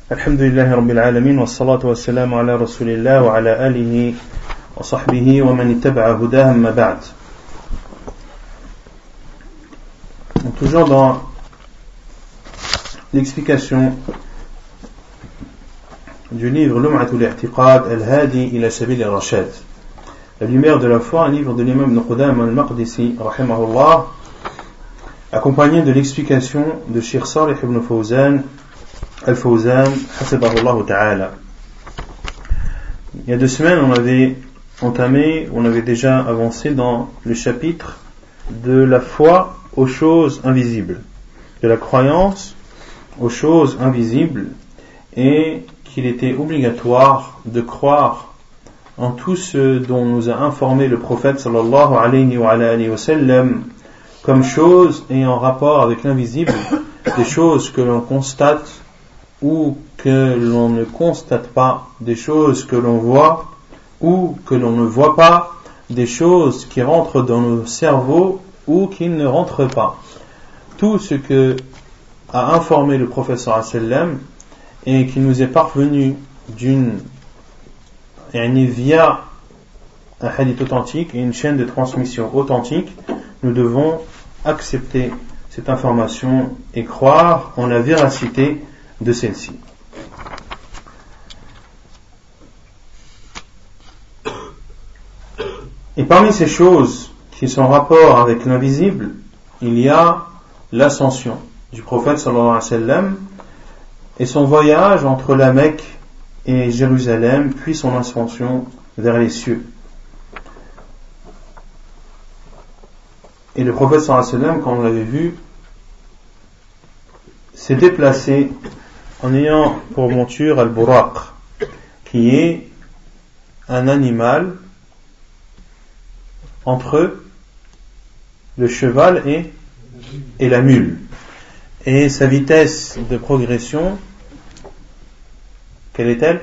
Alhamdulillahi Rabbil Alamin, wa salatu wa salam ala Rasulillah wa ala alihi wa sahbihi wa man ittaba'a hudahu amma ba'd. Toujours dans l'explication du livre Lum'atul I'tiqad al-Hadi ila Sabil al-Rashad, La lumière de la foi, un livre de l'imam Ibn Qudama al-Maqdisi rahimahullah, accompagné de l'explication de Cheikh Salih ibn Fawzan Al-Fawzan, hafidahullah ta'ala. Il y a 2 semaines, on avait déjà avancé dans le chapitre de la foi aux choses invisibles, de la croyance aux choses invisibles, et qu'il était obligatoire de croire en tout ce dont nous a informé le prophète sallallahu alayhi wa sallam comme choses ayant rapport avec l'invisible, des choses que l'on constate ou que l'on ne constate pas, des choses que l'on voit ou que l'on ne voit pas, des choses qui rentrent dans nos cerveaux ou qui ne rentrent pas. Tout ce que a informé le prophète sallallahu alayhi wa sallam et qui nous est parvenu via un hadith authentique et une chaîne de transmission authentique, nous devons accepter cette information et croire en la véracité de celle-ci. Et parmi ces choses qui sont en rapport avec l'invisible, il y a l'ascension du prophète sallallahu alayhi wa sallam et son voyage entre la Mecque et Jérusalem, puis son ascension vers les cieux. Et le prophète sallallahu alayhi wa sallam, comme on l'avait vu, s'est déplacé en ayant pour monture al-buraq, qui est un animal entre le cheval et la mule. Et sa vitesse de progression, quelle est-elle?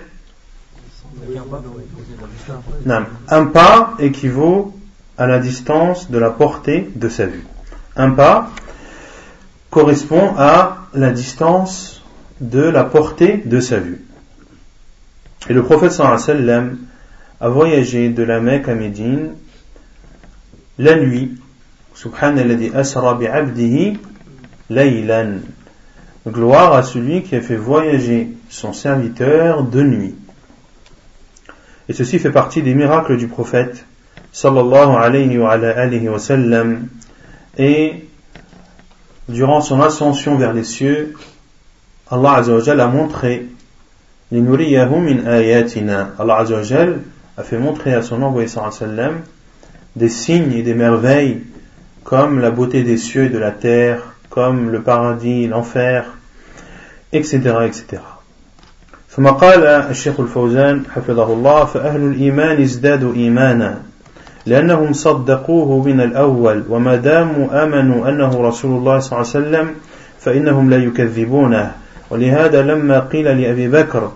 Un pas équivaut à la distance de la portée de sa vue. Un pas correspond à la distance de la portée de sa vue. Et le prophète sallallahu alayhi wa sallam a voyagé de la Mecque à Médine la nuit. Subhanalladhi asra bi'abdihi laylan. Gloire à celui qui a fait voyager son serviteur de nuit. Et ceci fait partie des miracles du prophète sallallahu alayhi wa sallam. Et durant son ascension vers les cieux, Allah Azza wa Jalla a montré linuriyahu min ayatina. Allah Azza wa Jalla a fait montrer à son envoyé sallallahu alayhi wa sallam des signes et des merveilles comme la beauté des cieux et de la terre, comme le paradis, l'enfer, etc. etc. ثم قال الشيخ الفوزان حفظه الله فأهل الإيمان ازدادوا إيمانا لأنهم صدقوه من الأول وما داموا آمنوا أنه رسول الله صلى الله عليه وسلم فإنهم لا يكذبونه ولهذا لما قيل لأبي بكر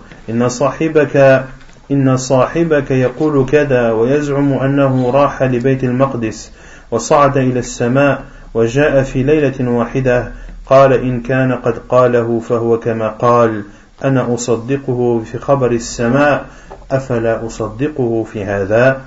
إن صاحبك يقول كذا ويزعم أنه راح لبيت المقدس وصعد إلى السماء وجاء في ليلة واحدة قال إن كان قد قاله فهو كما قال أنا أصدقه في خبر السماء أفلا أصدقه في هذا.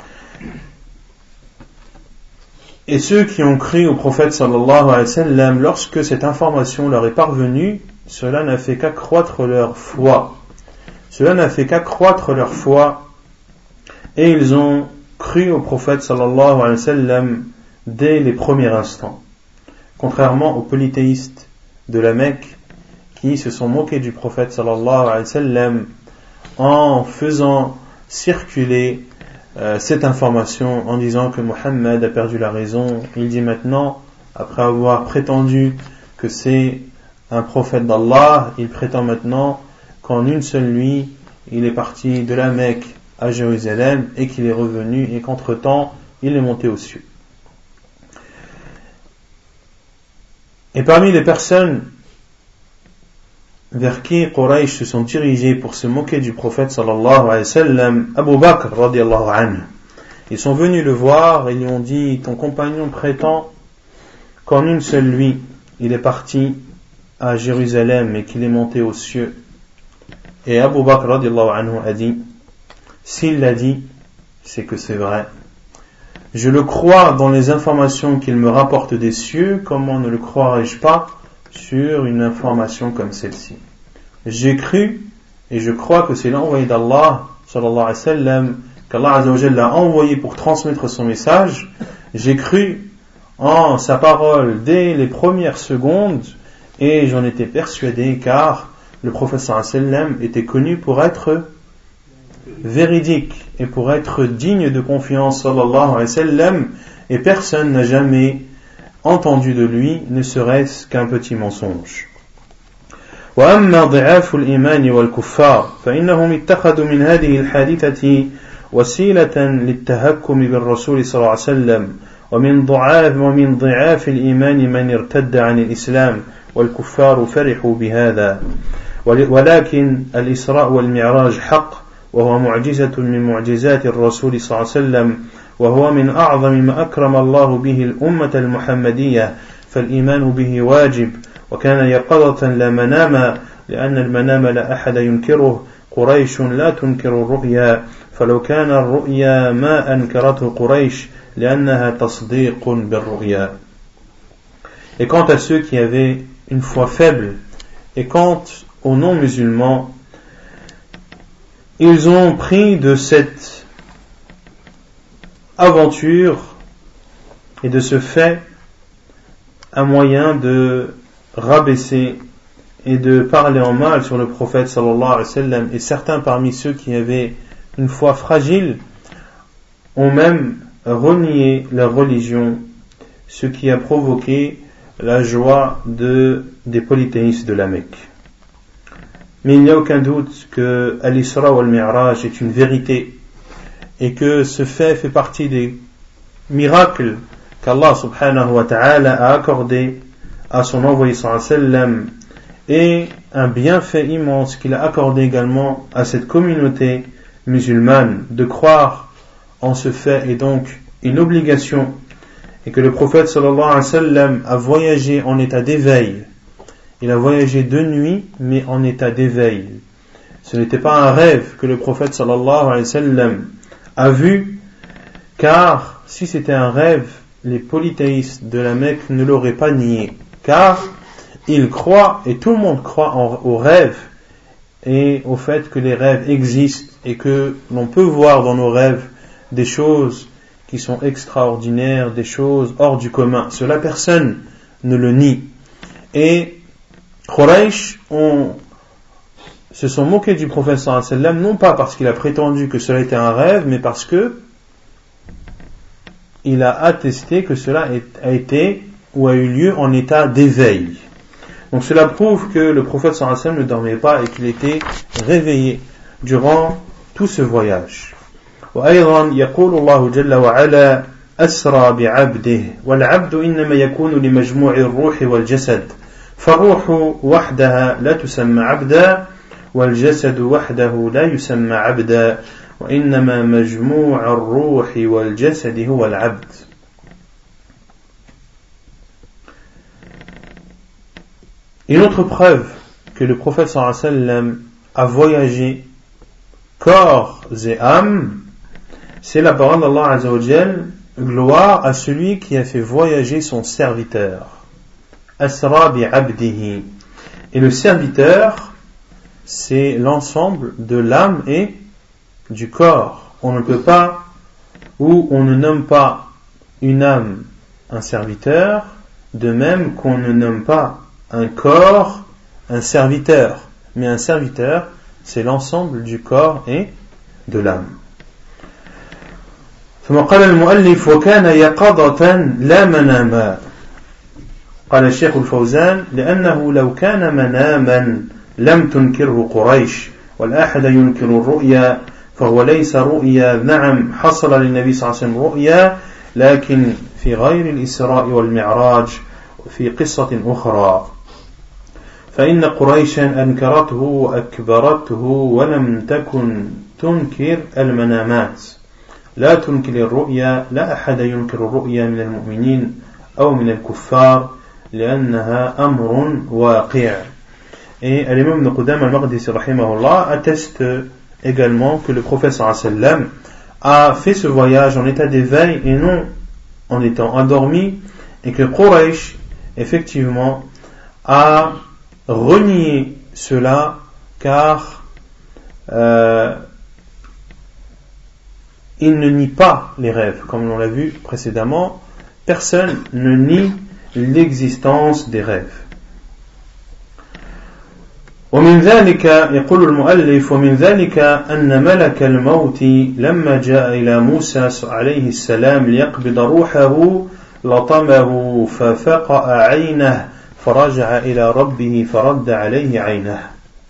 Et ceux qui ont cru au prophète sallallahu alayhi wa sallam, lorsque cette information leur est parvenue, cela n'a fait qu'accroître leur foi. Cela n'a fait qu'accroître leur foi, et ils ont cru au prophète sallallahu alayhi wa sallam dès les premiers instants. Contrairement aux polythéistes de la Mecque qui se sont moqués du prophète sallallahu alayhi wa sallam en faisant circuler cette information en disant que Mohammed a perdu la raison. Il dit maintenant, après avoir prétendu que c'est un prophète d'Allah, il prétend maintenant qu'en une seule nuit il est parti de la Mecque à Jérusalem et qu'il est revenu et qu'entre-temps il est monté aux cieux. Et parmi les personnes vers qui Quraysh se sont dirigés pour se moquer du prophète sallallahu alayhi wa sallam, Abu Bakr radiyallahu anhu, ils sont venus le voir et lui ont dit: ton compagnon prétend qu'en une seule nuit il est parti à Jérusalem et qu'il est monté aux cieux. Et Abu Bakr radiallahu anhu a dit, s'il l'a dit, c'est que c'est vrai. Je le crois dans les informations qu'il me rapporte des cieux, comment ne le croirais-je pas sur une information comme celle-ci? J'ai cru et je crois que c'est l'envoyé d'Allah sallallahu alayhi wa sallam, qu'Allah azza wa jalla l'a envoyé pour transmettre son message. J'ai cru en sa parole dès les premières secondes et j'en étais persuadé car le prophète sallallahu alayhi wa sallam était connu pour être véridique et pour être digne de confiance sallallahu alayhi wa sallam, et personne n'a jamais entendu de lui ne serait-ce qu'un petit mensonge. وأما ضعاف الإيمان والكفار فإنهم اتخذوا من هذه الحادثة وسيلة للتهكم بالرسول صلى الله عليه وسلم ومن ضعاف الإيمان من ارتد عن الإسلام والكفار فرحوا بهذا ولكن الإسراء والمعراج حق وهو معجزة من معجزات الرسول صلى الله عليه وسلم وهو من أعظم ما أكرم الله به الأمة المحمدية فالإيمان به واجب وكان يقظة لا مناما لأن المنام لا أحد ينكره قريش لا تنكر الرؤيا فلو كان الرؤيا ما أنكرته قريش لأنها تصديق بالرؤيا. Et quant à ceux qui avaient une foi faible, et quant aux non-musulmans, ils ont pris de cette aventure et de ce fait un moyen de rabaisser et de parler en mal sur le prophète sallallahu alayhi wa sallam, et certains parmi ceux qui avaient une foi fragile ont même renié leur religion, ce qui a provoqué la joie des polythéistes de la Mecque. Mais il n'y a aucun doute que Al-Isra ou Al-Mi'raj est une vérité et que ce fait partie des miracles qu'Allah subhanahu wa ta'ala a accordé à son envoyé sallallahu alayhi wa sallam, et un bienfait immense qu'il a accordé également à cette communauté musulmane. De croire en ce fait est donc une obligation, et que le prophète sallallahu alayhi wa sallam a voyagé en état d'éveil. Il a voyagé de nuit, mais en état d'éveil. Ce n'était pas un rêve que le prophète sallallahu alayhi wa sallam a vu, car si c'était un rêve, les polythéistes de la Mecque ne l'auraient pas nié, car ils croient, et tout le monde croit aux rêves et au fait que les rêves existent et que l'on peut voir dans nos rêves des choses qui sont extraordinaires, des choses hors du commun. Cela, personne ne le nie. Et Quraysh se sont moqués du prophète sallallahu alayhi wa sallam, non pas parce qu'il a prétendu que cela était un rêve, mais parce que il a attesté que cela a été ou a eu lieu en état d'éveil. Donc cela prouve que le prophète sallallahu alayhi wa sallam ne dormait pas et qu'il était réveillé durant tout ce voyage. وأيضا يقول الله جل وعلا أسرى بعبده والعبد إنما يكون لمجموع الروح والجسد فالروح وحدها لا تسمى عبدا والجسد وحده لا يسمى عبدا وإنما مجموع الروح والجسد هو العبد. Une autre preuve que le prophète sallallahu alayhi wa sallam a voyagé corps et âme, c'est la parole d'Allah azza wa jal, gloire à celui qui a fait voyager son serviteur. Asra bi abdihi. Et le serviteur, c'est l'ensemble de l'âme et du corps. On ne peut pas, ou on ne nomme pas une âme un serviteur, de même qu'on ne nomme pas un corps un serviteur. Mais un serviteur, c'est l'ensemble du corps et de l'âme. ثم قال المؤلف وكان يقظة لا مناما. قال الشيخ الفوزان لأنه لو كان مناما لم تنكره قريش والأحد ينكر الرؤيا فهو ليس رؤيا. نعم حصل للنبي صلى الله عليه وسلم رؤيا لكن في غير الإسراء والمعراج في قصة أخرى فإن قريشا أنكرته وأكبرته ولم تكن تنكر المنامات لا تنكر الرؤيا لا أحد ينكر الرؤيا من المؤمنين أو من الكفار لأنها أمر واقع. Et l'imam Ibn Qudam al-Maqdisi rahimahullah atteste également que le prophète sallam a fait ce voyage en état d'éveil et non en étant endormi, et que Quraysh effectivement a renié cela car il ne nie pas les rêves, comme on l'a vu précédemment. Personne ne nie l'existence des rêves. ومن ذلك يقول المؤلف ومن ذلك أن ملك الموت لما جاء إلى موسى عليه السلام ليقبض روحه لطمه ففقأ عينه فرجع إلى ربه فرد عليه عينه.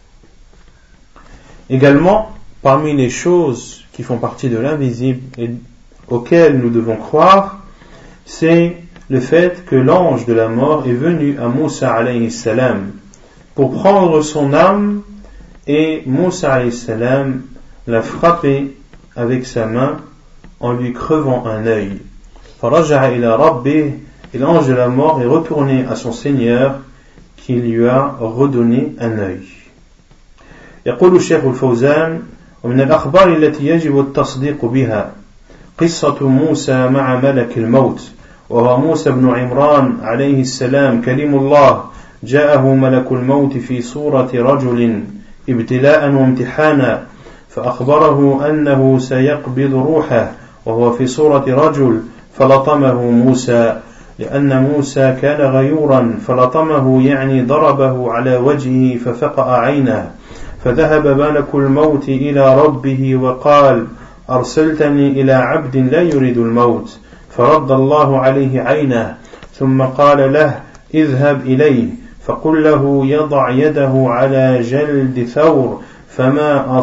Également, parmi les choses qui font partie de l'invisible et auxquelles nous devons croire, c'est le fait que l'ange de la mort est venu à Moussa alayhi salam pour prendre son âme, et Moussa alayhi salam l'a frappé avec sa main en lui crevant un œil. فَرَجَعَ إِلَى رَبِّهِ, et l'ange de la mort est retourné à son Seigneur qui lui a redonné un œil. يقول الشيخ الفوزان ومن الأخبار التي يجب التصديق بها قصة موسى مع ملك الموت وهو موسى بن عمران عليه السلام كليم الله جاءه ملك الموت في صورة رجل ابتلاء وامتحانا فأخبره أنه سيقبض روحه وهو في صورة رجل فلطمه موسى لأن موسى كان غيورا فلطمه يعني ضربه على وجهه ففقأ عينه فذهب ملك الموت إلى ربه وقال أرسلتني إلى عبد لا يريد الموت فرد الله عليه عينه ثم قال له اذهب إليه فقل له يضع يده على جلد ثور فما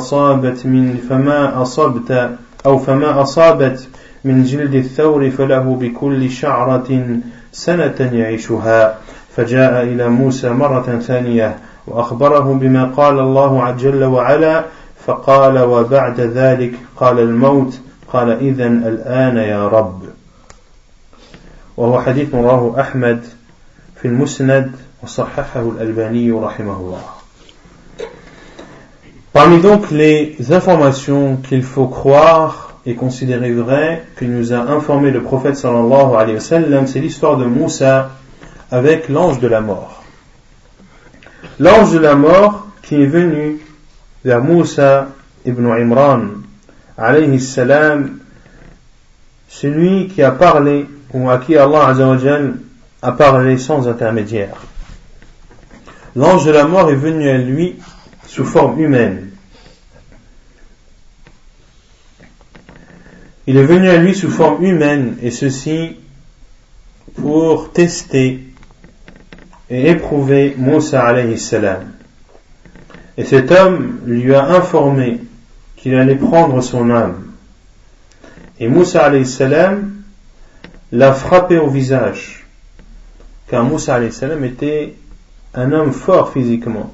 أصابت من جلد الثور فله بكل شعرة سنة يعيشها فجاء إلى موسى مرة ثانية وأخبره بما قال الله جل وعلا فقال وبعد ذلك قال الموت قال إذن الآن يا رب. وهو حديث رواه أحمد في المسند وصححه الألباني رحمه الله. Parmi donc les informations qu'il faut croire et considérer vraies que nous a informé le prophète sallallahu alayhi wa sallam, c'est l'histoire de Moussa avec l'ange de la mort. L'ange de la mort qui est venu vers Moussa ibn Imran alayhi salam, celui qui a parlé ou à qui Allah azza wa jal a parlé sans intermédiaire. L'ange de la mort est venu à lui sous forme humaine. Il est venu à lui sous forme humaine, et ceci pour tester et éprouver Moussa alayhi salam. Et cet homme lui a informé qu'il allait prendre son âme. Et Moussa alayhi salam l'a frappé au visage, car Moussa alayhi salam était un homme fort physiquement.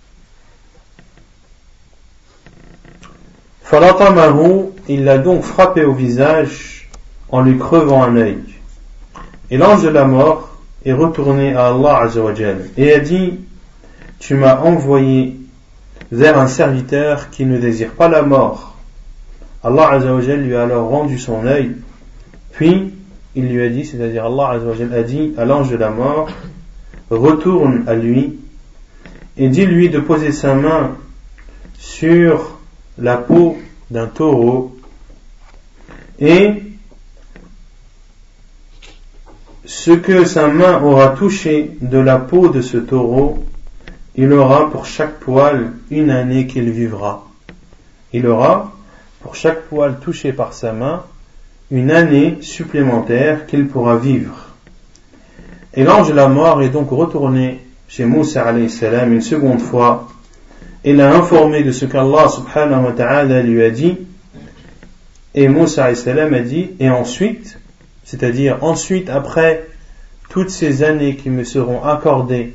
Falatamahu, il l'a donc frappé au visage en lui crevant un œil. Et l'ange de la mort est retourné à Allah azza wa jal et a dit: tu m'as envoyé vers un serviteur qui ne désire pas la mort. Allah azza wa jal lui a alors rendu son œil, puis il lui a dit, c'est-à-dire Allah azza wa jal a dit à l'ange de la mort: retourne à lui et dis-lui de poser sa main sur la peau d'un taureau, et ce que sa main aura touché de la peau de ce taureau, il aura pour chaque poil une année qu'il vivra. Il aura pour chaque poil touché par sa main une année supplémentaire qu'il pourra vivre. Et l'ange de la mort est donc retourné chez Moussa alayhi salam une seconde fois et l'a informé de ce qu'Allah subhanahu wa ta'ala lui a dit. Et Moussa alayhi salam a dit: et ensuite, c'est-à-dire ensuite, après toutes ces années qui me seront accordées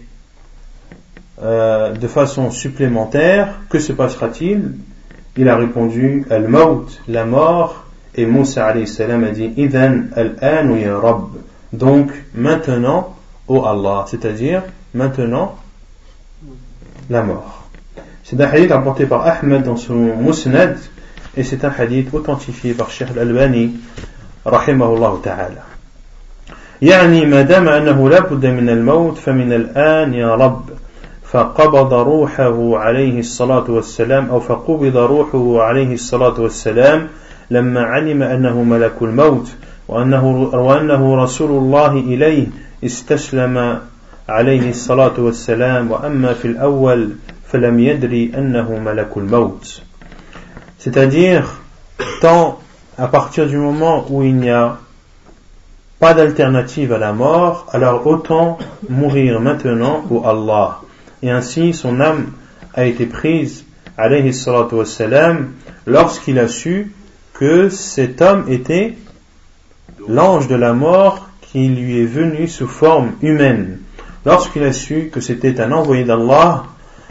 de façon supplémentaire, que se passera-t-il? Il a répondu: al-maut, la mort. Et Moussa alayhi salam a dit: idhan al-an ya Rabb, donc maintenant, ô Allah, c'est-à-dire maintenant la mort. C'est un hadith rapporté par Ahmed dans son Musnad, et c'est un hadith authentifié par Cheikh Al-Albani rahimahullah ta'ala. يعني ما دام أنه لا بد من الموت فمن الآن يا رب فقبض روحه عليه الصلاة والسلام أو فقبض روحه عليه الصلاة والسلام لما علم أنه ملك الموت وأنه رسول الله إليه استسلم عليه الصلاة والسلام وأما في الأول فلم يدري أنه ملك الموت. C'est-à-dire, tant à partir du moment où il n'y a pas d'alternative à la mort, alors autant mourir maintenant au Allah. Et ainsi son âme a été prise, alayhi salatu wassalam, lorsqu'il a su que cet homme était l'ange de la mort qui lui est venu sous forme humaine. Lorsqu'il a su que c'était un envoyé d'Allah,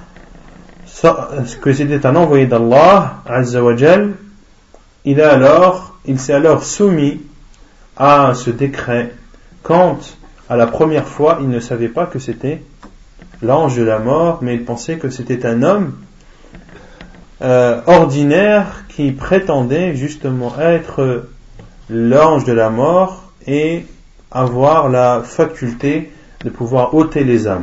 Azza wa Jal, il s'est alors soumis à ce décret, quand à la première fois il ne savait pas que c'était l'ange de la mort, mais il pensait que c'était un homme ordinaire qui prétendait justement être l'ange de la mort et avoir la faculté de pouvoir ôter les âmes.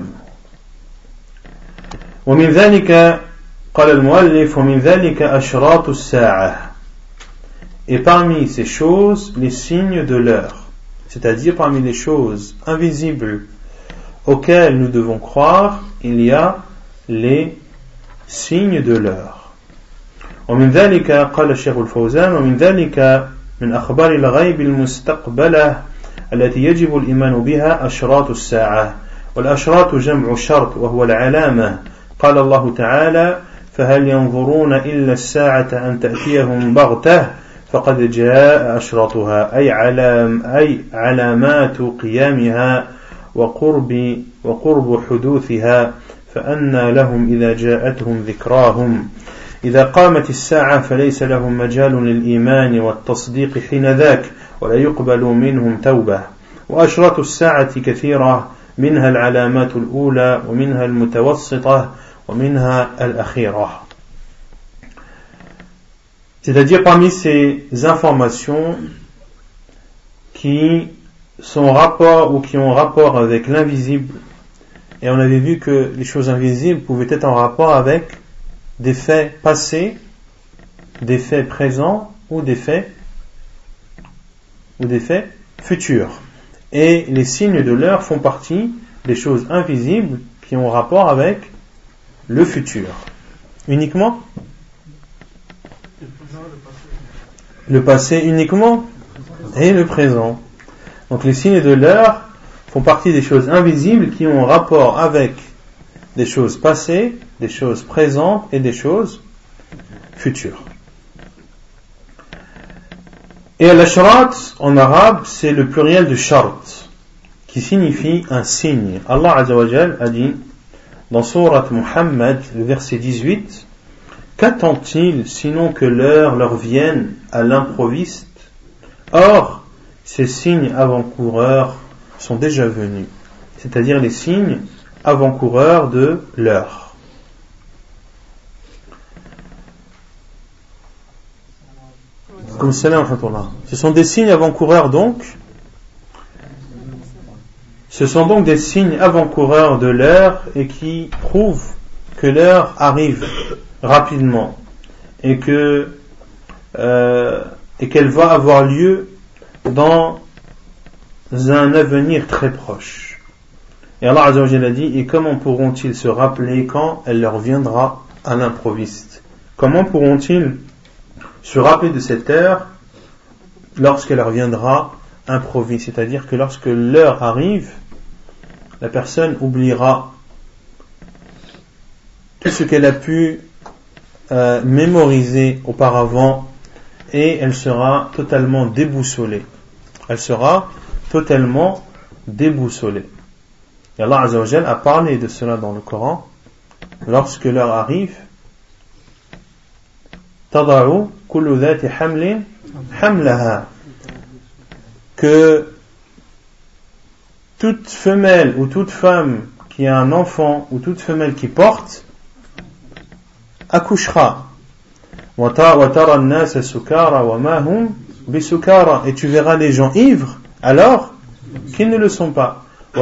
ومن ذلك قال المؤلف ومن ذلك أشراط الساعة. Et parmi ces choses, les signes de l'heure, c'est-à-dire parmi les choses invisibles auxquelles nous devons croire, il y a les signes de l'heure. ومن ذلك قال الشيخ الفوزان ومن ذلك من أخبار الغيب المستقبلة التي يجب الإيمان بها أشراط الساعة. والأشراط جمع شرط وهو العلامة. قال الله تعالى فهل ينظرون إلا الساعة أن تأتيهم بغتة فقد جاء أشراطها أي علامات قيامها وقرب حدوثها فأنى لهم إذا جاءتهم ذكراهم. إذا قامت الساعة فليس لهم مجال للإيمان والتصديق حين ذاك ولا يقبل منهم توبة. وأشراط الساعة كثيرة منها العلامات الأولى ومنها المتوسطة ومنها الأخيرة. C'est-à-dire parmi ces informations qui sont rapport ou qui ont rapport avec l'invisible, et on avait vu que les choses invisibles pouvaient être en rapport avec des faits passés, des faits présents ou des faits futurs. Et les signes de l'heure font partie des choses invisibles qui ont rapport avec le futur. Uniquement le passé uniquement et le présent. Donc les signes de l'heure font partie des choses invisibles qui ont rapport avec des choses passées, des choses présentes et des choses futures. Et al-ashrat en arabe c'est le pluriel de shart qui signifie un signe. Allah Azza wa Jal a dit dans sourate Muhammad, le verset 18, qu'attendent-ils sinon que l'heure leur vienne à l'improviste? Or, ces signes avant-coureurs sont déjà venus, c'est-à-dire les signes avant-coureurs de l'heure. Comme ce sont des signes avant-coureurs donc. Ce sont donc des signes avant-coureurs de l'heure et qui prouvent que l'heure arrive rapidement et qu'elle va avoir lieu dans un avenir très proche. Et Allah Azza wa Jalla dit, et comment pourront-ils se rappeler quand elle leur viendra à l'improviste? Comment pourront-ils se rappeler de cette heure lorsqu'elle leur viendra improviste? C'est-à-dire que lorsque l'heure arrive, la personne oubliera tout ce qu'elle a pu mémoriser auparavant et elle sera totalement déboussolée. Elle sera totalement déboussolée. Et Allah Azza wa Jalla a parlé de cela dans le Coran. Lorsque l'heure arrive, tada'u kullu dhati hamlin hamlaha, que toute femelle ou toute femme qui a un enfant ou toute femelle qui porte accouchera. Et tu verras les gens ivres alors qu'ils ne le sont pas.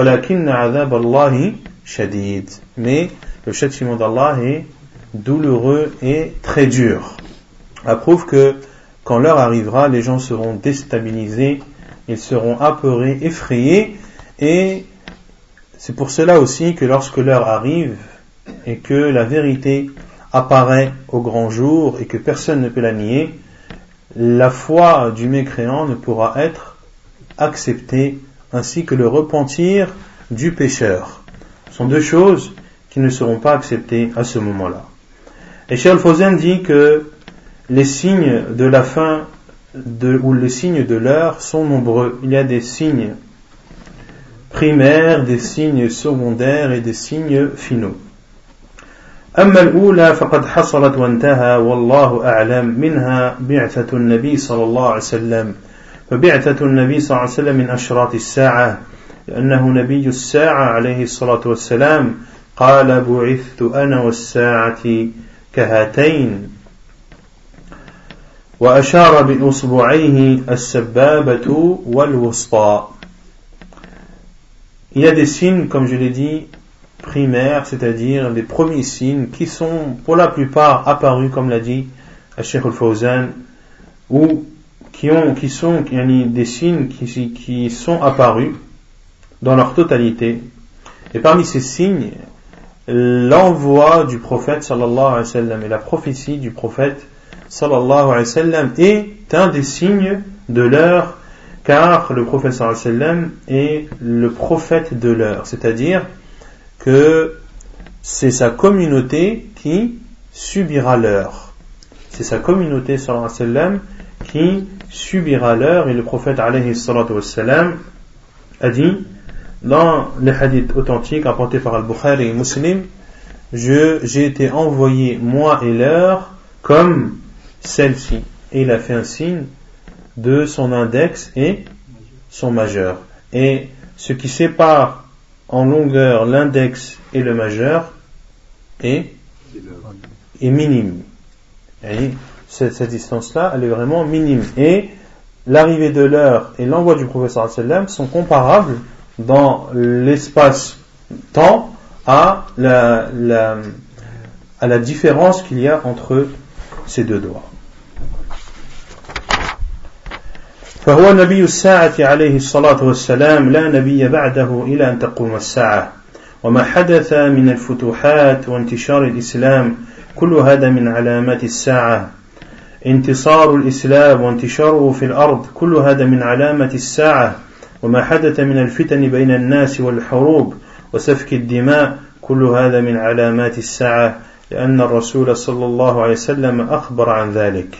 Mais le châtiment d'Allah est douloureux et très dur. Ça prouve que quand l'heure arrivera, les gens seront déstabilisés, ils seront apeurés, effrayés, et c'est pour cela aussi que lorsque l'heure arrive et que la vérité apparaît au grand jour et que personne ne peut la nier, la foi du mécréant ne pourra être acceptée, ainsi que le repentir du pécheur. Ce sont deux choses qui ne seront pas acceptées à ce moment-là. Et Cheikh Al-Fawzan dit que les signes de la fin ou les signes de l'heure sont nombreux. Il y a des signes primaires, des signes secondaires et des signes finaux. أما الأولى فقد حصلت وانتهى والله أعلم منها بعثة النبي صلى الله عليه وسلم فبعثة النبي صلى الله عليه وسلم من أشراط الساعة لأنه نبي الساعة عليه الصلاة والسلام قال بعثت أنا والساعة كهاتين وأشار بأصبعيه السبابة والوسطى. Il y a des signes, comme je l'ai dit, primaires, c'est-à-dire les premiers signes qui sont pour la plupart apparus, comme l'a dit Cheikh Al-Fawzan, ou qui sont des signes qui sont apparus dans leur totalité. Et parmi ces signes, l'envoi du prophète sallallahu alayhi wa sallam et la prophétie du prophète sallallahu alayhi wa sallam est un des signes de l'heure, car le prophète sallallahu alayhi wa sallam est le prophète de l'heure, c'est-à-dire que c'est sa communauté qui subira l'heure. C'est sa communauté sallallahu alayhi wa sallam qui subira l'heure, et le prophète alayhi salatu wa sallam a dit dans les hadiths authentiques rapportés par Al-Bukhari et Muslim, j'ai été envoyé moi et l'heure comme celle-ci, et il a fait un signe de son index et son majeur, et ce qui sépare en longueur l'index et le majeur est minime. Et cette distance-là, elle est vraiment minime, et l'arrivée de l'heure et l'envoi du prophète sallallahu alayhi wa sallam sont comparables dans l'espace-temps à la différence qu'il y a entre ces deux doigts. فهو نبي الساعة عليه الصلاة والسلام لا نبي بعده إلى أن تقوم الساعة وما حدث من الفتوحات وانتشار الإسلام كل هذا من علامات الساعة انتصار الإسلام وانتشاره في الأرض كل هذا من علامة الساعة وما حدث من الفتن بين الناس والحروب وسفك الدماء كل هذا من علامات الساعة لأن الرسول صلى الله عليه وسلم أخبر عن ذلك.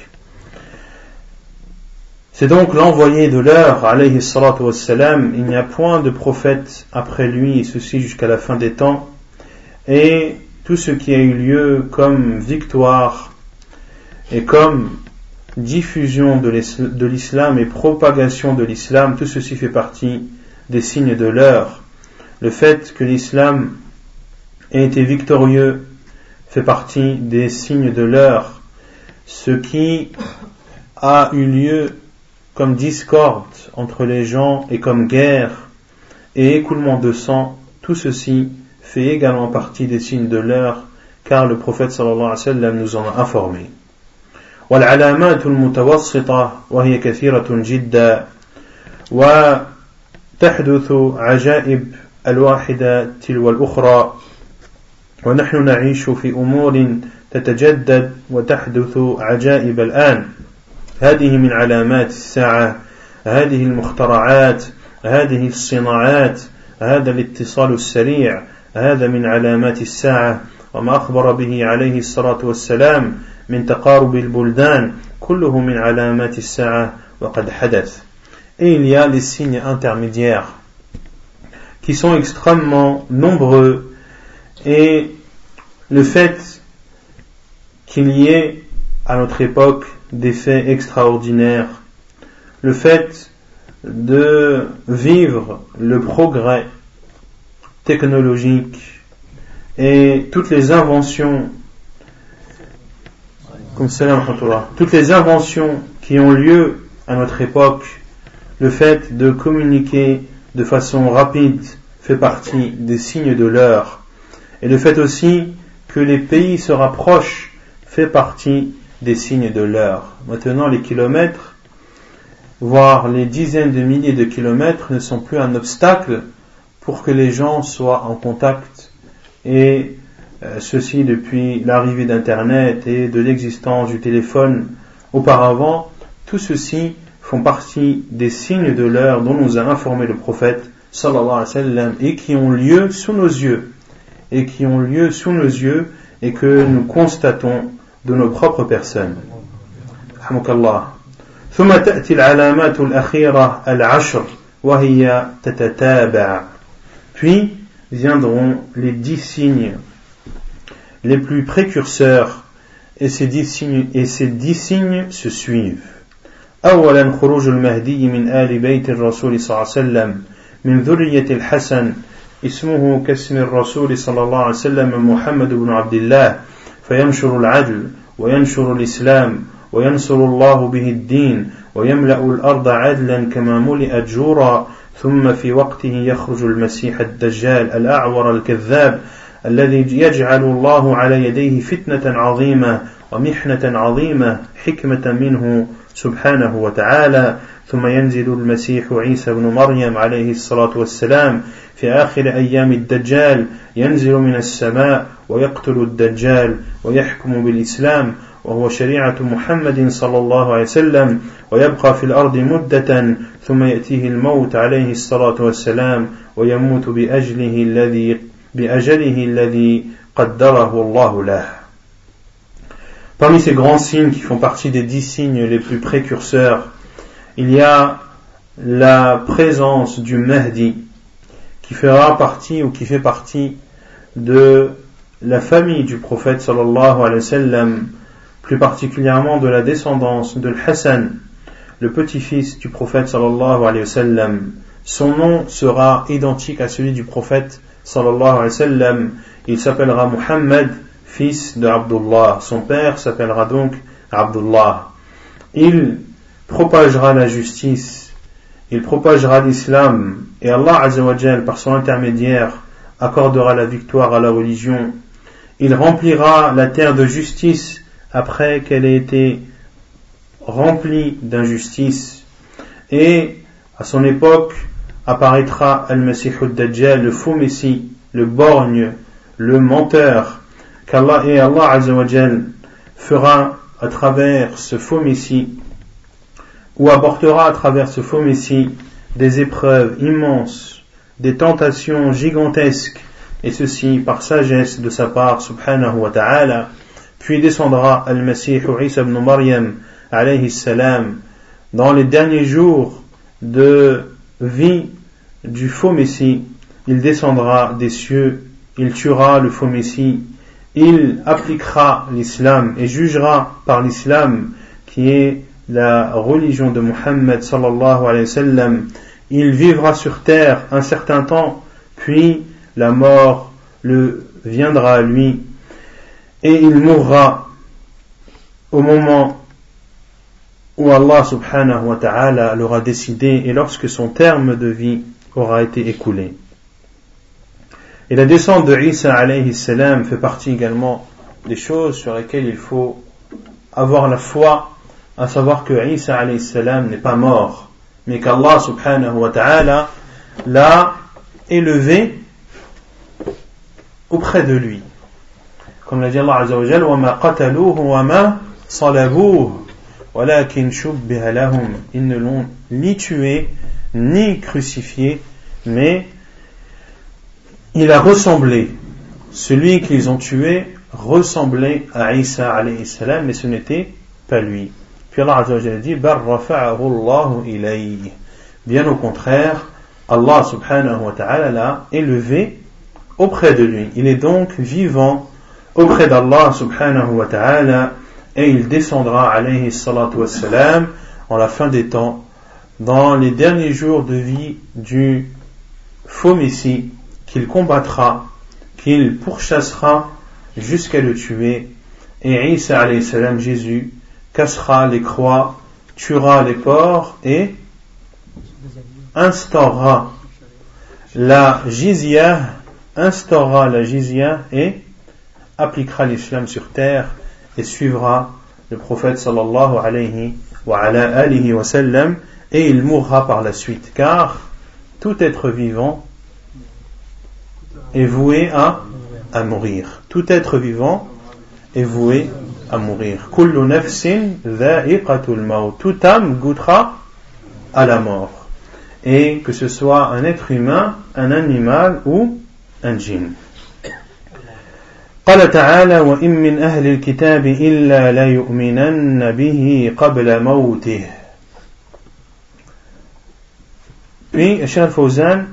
C'est donc l'envoyé de l'heure, alayhi salatu wassalam. Il n'y a point de prophète après lui, et ceci jusqu'à la fin des temps. Et tout ce qui a eu lieu comme victoire et comme diffusion de l'islam et propagation de l'islam, tout ceci fait partie des signes de l'heure. Le fait que l'islam ait été victorieux fait partie des signes de l'heure. Ce qui a eu lieu comme discorde entre les gens et comme guerre et écoulement de sang, tout ceci fait également partie des signes de l'heure, car le prophète sallallahu alayhi wa sallam nous en a informé. والعلامات المتوسطة وهي كثيرة جدا وتحدث عجائب الواحدة تلو الأخرى ونحن نعيش في أمور تتجدد وتحدث عجائب الآن. هذه من علامات الساعة، هذه المخترعات، هذه الصناعات، هذا الاتصال السريع، هذا من علامات الساعة، وما أخبر به عليه الصلاة والسلام من تقارب البلدان كله من علامات الساعة وقد حدث. Et il y a les signes intermédiaires qui sont extrêmement nombreux, et le fait qu'il y ait à notre époque des faits extraordinaires, le fait de vivre le progrès technologique et toutes les inventions Comme salam wa rahmatullah. Toutes les inventions qui ont lieu à notre époque, le fait de communiquer de façon rapide fait partie des signes de l'heure. Et le fait aussi que les pays se rapprochent fait partie des signes de l'heure. Maintenant, les kilomètres, voire les dizaines de milliers de kilomètres ne sont plus un obstacle pour que les gens soient en contact. Et ceci depuis l'arrivée d'Internet et de l'existence du téléphone auparavant, tout ceci font partie des signes de l'heure dont nous a informé le prophète sallallahu alayhi wa sallam et qui ont lieu sous nos yeux et que nous constatons de nos propres personnes. Rahmukallah. ثم تأتي العلامات الأخيرة العشر وهي تتتابع. Puis viendront les 10 signes les plus précurseurs et ces 10 signes se suivent. أولا خروج المهدي من آل بيت الرسول صلى الله عليه وسلم من ذرية الحسن اسمه كاسم الرسول صلى الله عليه وسلم محمد بن عبد الله فينشر العدل وينشر الإسلام وينصر الله به الدين ويملأ الأرض عدلا كما ملئت جورا ثم في وقته يخرج المسيح الدجال الأعور الكذاب الذي يجعل الله على يديه فتنة عظيمة ومحنة عظيمة حكمة منه سبحانه وتعالى ثم ينزل المسيح عيسى بن مريم عليه الصلاة والسلام في آخر أيام الدجال ينزل من السماء ويقتل الدجال ويحكم بالإسلام وهو شريعة محمد صلى الله عليه وسلم ويبقى في الأرض مدة ثم يأتيه الموت عليه الصلاة والسلام ويموت بأجله الذي قدره الله له. Parmi ces grands signes qui font partie des 10 signes les plus précurseurs, il y a la présence du Mahdi qui fera partie ou qui fait partie de la famille du prophète sallallahu alayhi wa sallam, plus particulièrement de la descendance de Hassan, le petit-fils du prophète sallallahu alayhi wa sallam. Son nom sera identique à celui du prophète sallallahu alayhi wa sallam. Il s'appellera Muhammad, fils de Abdullah. Son père s'appellera donc Abdullah. Il propagera la justice, il propagera l'islam, et Allah Azza wa Jal, par son intermédiaire, accordera la victoire à la religion. Il remplira la terre de justice après qu'elle ait été remplie d'injustice. Et à son époque apparaîtra Al-Masih al-Dajjal, le faux messie, le borgne, le menteur, Allah Azza wa Jal fera à travers ce faux messie, ou apportera à travers ce faux messie des épreuves immenses, des tentations gigantesques, et ceci par sagesse de sa part subhanahu wa ta'ala. Puis descendra Al-Masih Isa ibn Maryam alayhi salam dans les derniers jours de vie du faux messie. Il descendra des cieux, il tuera le faux messie, il appliquera l'islam et jugera par l'islam qui est la religion de Muhammad sallallahu alayhi wa sallam. Il vivra sur terre un certain temps, puis la mort le viendra à lui et il mourra au moment où Allah subhanahu wa ta'ala l'aura décidé et lorsque son terme de vie aura été écoulé. Et la descente de Isa alayhi salam fait partie également des choses sur lesquelles il faut avoir la foi, à savoir que Isa alayhi salam n'est pas mort, mais qu'Allah subhanahu wa ta'ala l'a élevé auprès de lui. Comme l'a dit Allah Azza wa Jalla, وَمَا قَتَلُوهُ وَمَا صَلَبُوهُ وَلَكِنْ شُبِّهَ لَهُمْ. Ils ne l'ont ni tué, ni crucifié, mais il a ressemblé. Celui qu'ils ont tué ressemblait à Isa alayhi salam, mais ce n'était pas lui. Puis Allah Azza wa Jalla dit بَلْ رَفَعَهُ اللَّهُ إِلَيْهِ. Bien au contraire, Allah subhanahu wa ta'ala l'a élevé auprès de lui. Il est donc vivant auprès d'Allah subhanahu wa ta'ala et il descendra alayhi salatu wassalam en la fin des temps dans les derniers jours de vie du faux messie qu'il combattra, qu'il pourchassera jusqu'à le tuer et Isa alayhi salam, Jésus, cassera les croix, tuera les porcs et instaurera la jizya et appliquera l'islam sur terre et suivra le prophète sallallahu alayhi wa ala alihi wa sallam, et il mourra par la suite, car tout être vivant est voué à mourir. Tout être vivant est voué à mourir. Kullu nafsin dha'iqatul maut. Toute âme goûtera à la mort. Et que ce soit un être humain, un animal ou un djinn. قال تعالى وإن من أهل الكتاب إلا ليؤمنن به قبل موته. Puis Cheikh Al-Fawzan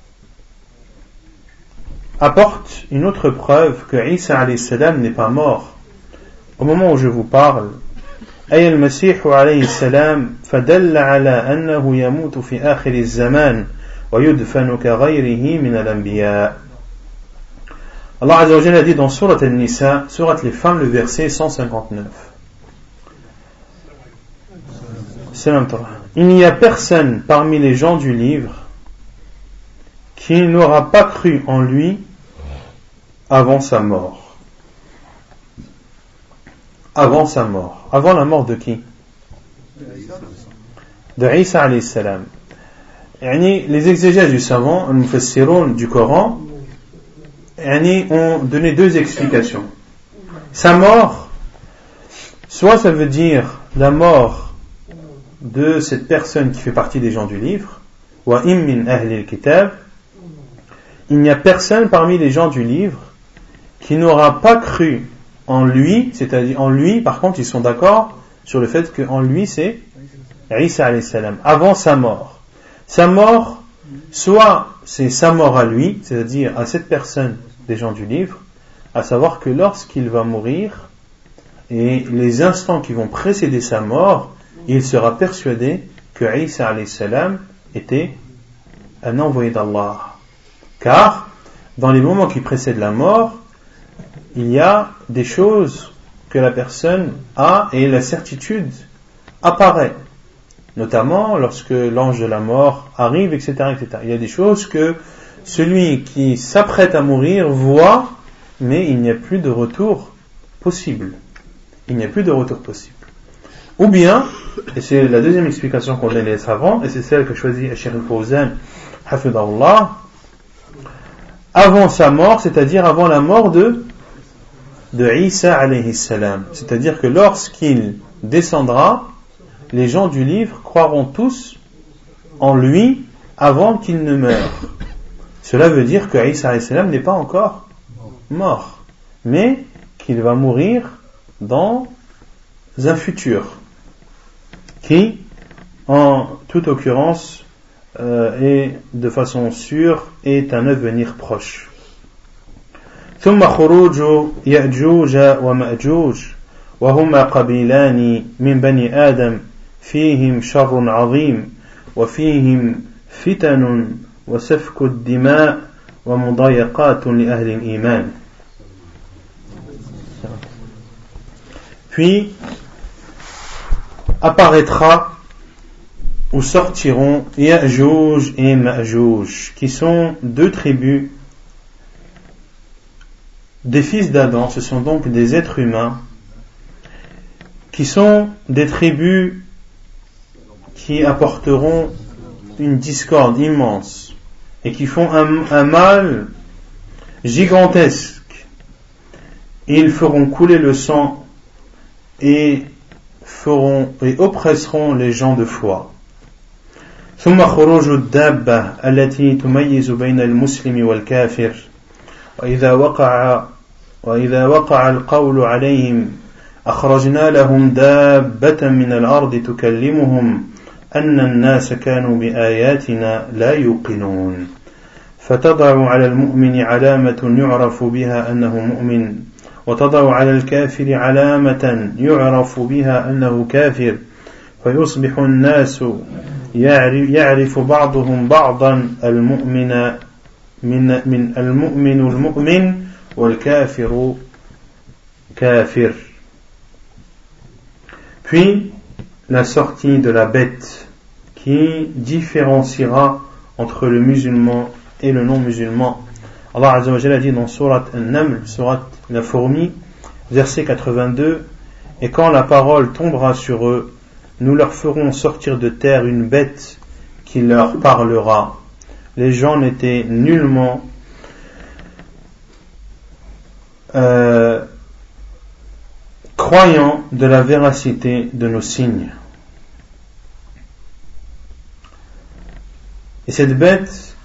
apporte une autre preuve que Isa alayhi salam n'est pas mort. Au moment où je vous parle, أي المسيح عليه السلام فدل على أنه يموت في آخر الزمان ويدفن كغيره من الأنبياء. Allah Azza wa Jalla a dit dans Surat An-Nisa, Surat les femmes, le verset 159. Il n'y a personne parmi les gens du livre qui n'aura pas cru en lui avant sa mort. Avant sa mort. Avant la mort de qui? De Isa alayhi salam. Les exégètes du savant, les mufassiroun du Coran, ont donné deux explications. Sa mort, soit ça veut dire la mort de cette personne qui fait partie des gens du livre, wa im min ahli al-kitab, il n'y a personne parmi les gens du livre qui n'aura pas cru en lui, c'est-à-dire en lui, par contre ils sont d'accord sur le fait qu'en lui c'est Isa alayhi salam, avant sa mort. Sa mort, soit c'est sa mort à lui, c'est-à-dire à cette personne des gens du livre, à savoir que lorsqu'il va mourir, et les instants qui vont précéder sa mort, il sera persuadé que Isa alayhi salam était un envoyé d'Allah. Car, dans les moments qui précèdent la mort, il y a des choses que la personne a et la certitude apparaît. Notamment lorsque l'ange de la mort arrive, etc., etc. Il y a des choses que celui qui s'apprête à mourir voit, mais il n'y a plus de retour possible. Il n'y a plus de retour possible. Ou bien, et c'est la deuxième explication qu'on donne les savants, et c'est celle que choisit Cheikh Al-Fawzan, hafidahullah, avant sa mort, c'est-à-dire avant la mort de Isa alayhi salam. C'est-à-dire que lorsqu'il descendra, les gens du livre croiront tous en lui avant qu'il ne meure. Cela veut dire que Isa alayhi salam n'est pas encore mort, mais qu'il va mourir dans un futur qui, en toute occurrence, et de façon sûre, est un avenir proche. ثم خروج يأجوج ومأجوج وهما قبيلان من بني آدم فيهم شر عظيم وفيهم فتن وسفك الدماء ومضايقات لأهل الإيمان. Puis apparaîtra ou sortiront Ya'juj et Ma'juj, qui sont deux tribus des fils d'Adam. Ce sont donc des êtres humains qui sont des tribus qui apporteront une discorde immense et qui font un mal gigantesque. Ils feront couler le sang et oppresseront les gens de foi. ثم خروج الدابة التي تميز بين المسلم والكافر وإذا وقع القول عليهم أخرجنا لهم دابة من الأرض تكلمهم أن الناس كانوا بآياتنا لا يوقنون فتضع على المؤمن علامة يعرف بها أنه مؤمن وتضع على الكافر علامة يعرف بها أنه كافر فيصبح الناس يعرف بعضهم بعضا المؤمن المؤمن والكافر كافر. Puis la sortie de la bête qui différenciera entre le musulman et le non-musulman. Allah Azza wa Jalla a dit dans Surat An-Naml, Surat la fourmi, verset 82, et quand la parole tombera sur eux, nous leur ferons sortir de terre une bête qui leur parlera. Les gens n'étaient nullement croyants de la véracité de nos signes. Et cette bête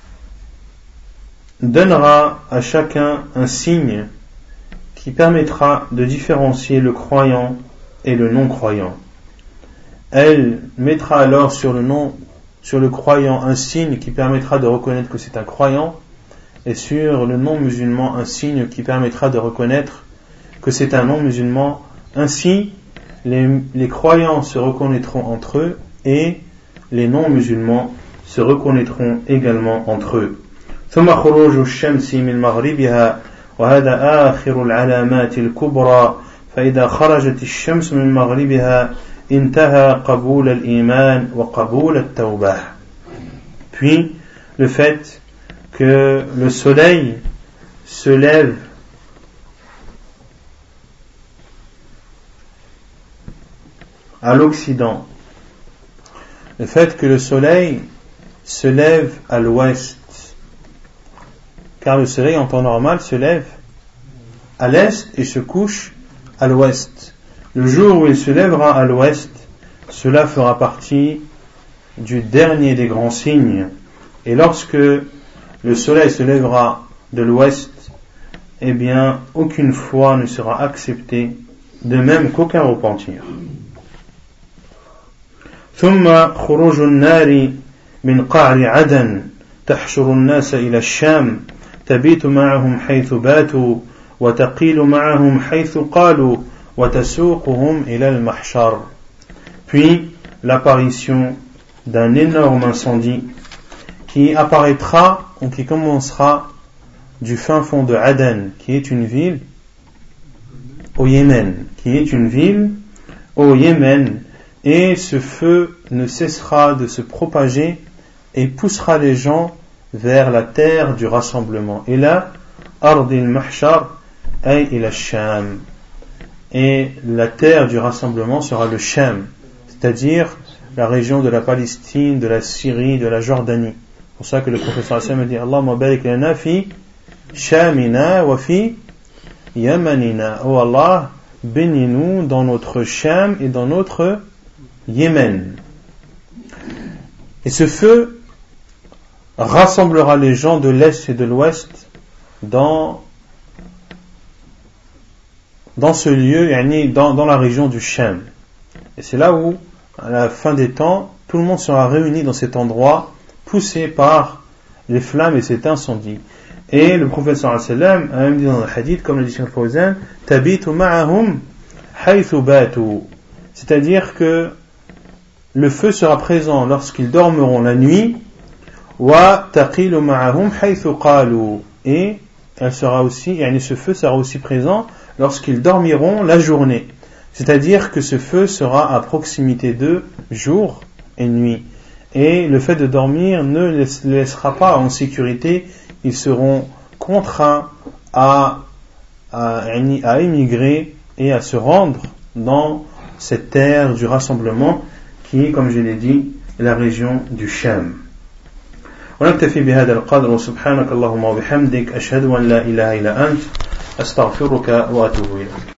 donnera à chacun un signe qui permettra de différencier le croyant et le non-croyant. Elle mettra alors sur le croyant un signe qui permettra de reconnaître que c'est un croyant, et sur le non-musulman un signe qui permettra de reconnaître que c'est un non-musulman. Ainsi, les croyants se reconnaîtront entre eux et les non-musulmans se reconnaîtront également entre eux. ثم خروج الشمس من مغربها وهذا آخر العلامات الكبرى فإذا خرجت الشمس من مغربها انتهى قبول الإيمان وقبول التوبة. Puis le fait que le soleil se lève à l'Occident, le fait que le soleil se lève à l'ouest, car le soleil en temps normal se lève à l'est et se couche à l'ouest. Le jour où il se lèvera à l'ouest, cela fera partie du dernier des grands signes. Et lorsque le soleil se lèvera de l'ouest, eh bien aucune foi ne sera acceptée, de même qu'aucun repentir. ثم خروج النار من قعر عدن تحشر الناس إلى الشام تبيت معهم حيث باتوا وتقيل معهم حيث قالوا وتسوقهم إلى المحشر. Puis l'apparition d'un énorme incendie qui apparaîtra ou qui commencera du fin fond de Aden, qui est une ville au Yémen, et ce feu ne cessera de se propager et poussera les gens vers la terre du rassemblement. Et là, Ardil Mahshar ay ila Sham. Et la terre du rassemblement sera le Sham, c'est-à-dire la région de la Palestine, de la Syrie, de la Jordanie. C'est pour ça que le prophète sallallahu alayhi wa sallam dit Allahumma barik lana fi Shamina wa fi Yamanina. Oh Allah, bénis-nous dans notre Sham et dans notre Yémen. Et ce feu rassemblera les gens de l'Est et de l'Ouest dans ce lieu, dans la région du Sham. Et c'est là où, à la fin des temps, tout le monde sera réuni dans cet endroit, poussé par les flammes et cet incendie. Et le prophète sallallahu alayhi wa sallam a même dit dans le hadith, comme le dit Cheikh Fawzan, tabitu ma'ahum haythu batu. C'est-à-dire que le feu sera présent lorsqu'ils dormiront la nuit, wa taqilu ma'ahum haythu qalu, et elle sera aussi, ce feu sera aussi présent lorsqu'ils dormiront la journée. C'est-à-dire que ce feu sera à proximité d'eux jour et nuit. Et le fait de dormir ne les laissera pas en sécurité, ils seront contraints à émigrer et à se rendre dans cette terre du rassemblement qui est, comme je l'ai dit, la région du Sham. ونكتفي بهذا القدر وسبحانك اللهم وبحمدك أشهد أن لا إله إلا أنت أستغفرك وأتوب إليك.